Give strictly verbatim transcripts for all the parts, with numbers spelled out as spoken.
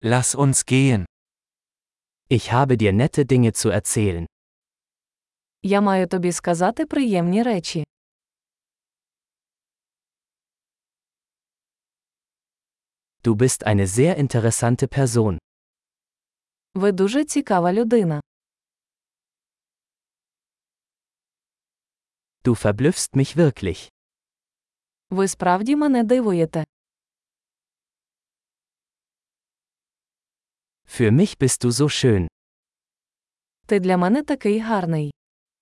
Lass uns gehen. Ich habe dir nette Dinge zu erzählen. Я маю тобі сказати приємні речі. Du bist eine sehr interessante Person. Ви дуже цікава людина. Du verblüffst mich wirklich. Ви справді мене дивуєте. Für mich bist du so schön. Ти для мене такий гарний.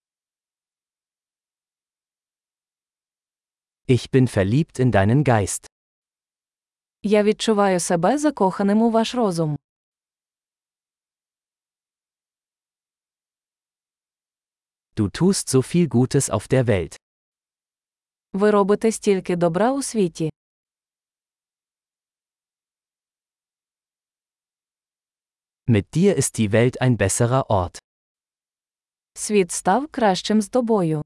Ich bin verliebt in deinen Geist. Я відчуваю себе закоханим у ваш розум. Du tust so viel Gutes auf der Welt. Ви робите стільки добра у світі. Mit dir ist die Welt ein besserer Ort. Світ став кращим з тобою.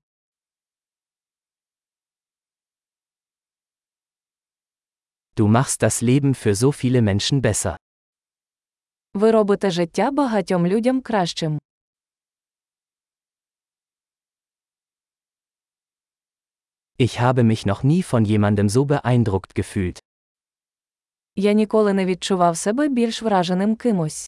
Du machst das Leben für so viele Menschen besser. Ви робите життя багатьом людям кращим. Ich habe mich noch nie von jemandem so beeindruckt gefühlt. Я ніколи не відчував себе більш враженим кимось.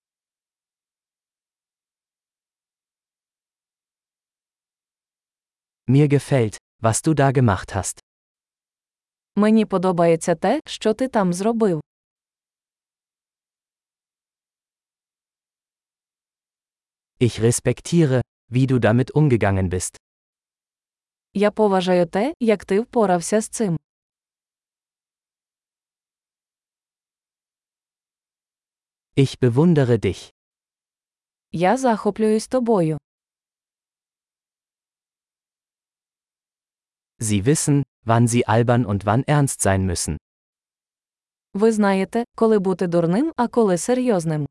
Mir gefällt, was du da gemacht hast. Мені подобається те, що ти там зробив. Ich respektiere, wie du damit umgegangen bist. Я поважаю те, як ти впорався з цим. Ich bewundere dich. Я захоплююсь тобою. Sie wissen, wann sie albern und wann ernst sein müssen. Ви знаєте, коли бути дурним, а коли серйозним.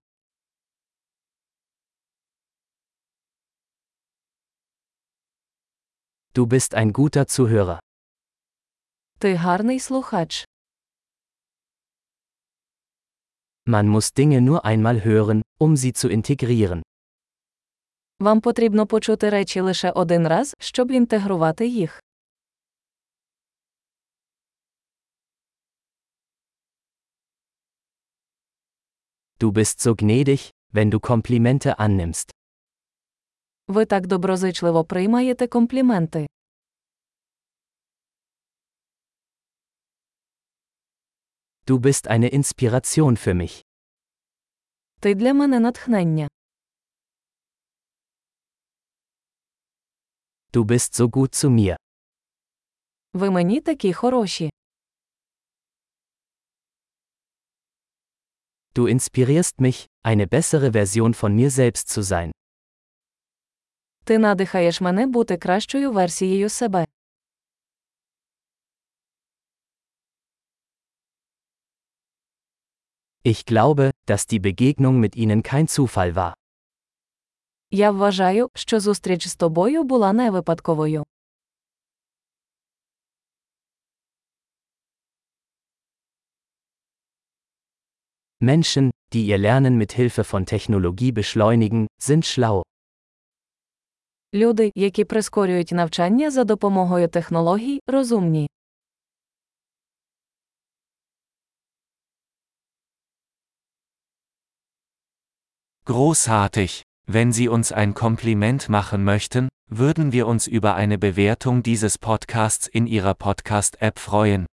Du bist ein guter Zuhörer. Ти гарний слухач. Man muss Dinge nur einmal hören, um sie zu integrieren. Вам потрібно почути речі лише один раз, щоб інтегрувати їх. Du bist so gnädig, wenn du Komplimente annimmst. Ви так доброзичливо приймаєте компліменти. Du bist eine Inspiration für mich. Ти для мене натхнення. Du bist so gut zu mir. Ви мені такі хороші. Du inspirierst mich, eine bessere Version von mir selbst zu sein. Ти надихаєш мене бути кращою версією себе. Ich glaube, dass die Begegnung mit ihnen kein Zufall war. Я вважаю, що зустріч з тобою була не випадковою. Menschen, die ihr Lernen mit Hilfe von Technologie beschleunigen, sind schlau. Люди, які прискорюють навчання за допомогою технологій, розумні. Großartig! Wenn Sie uns ein Kompliment machen möchten, würden wir uns über eine Bewertung dieses Podcasts in Ihrer Podcast-App freuen.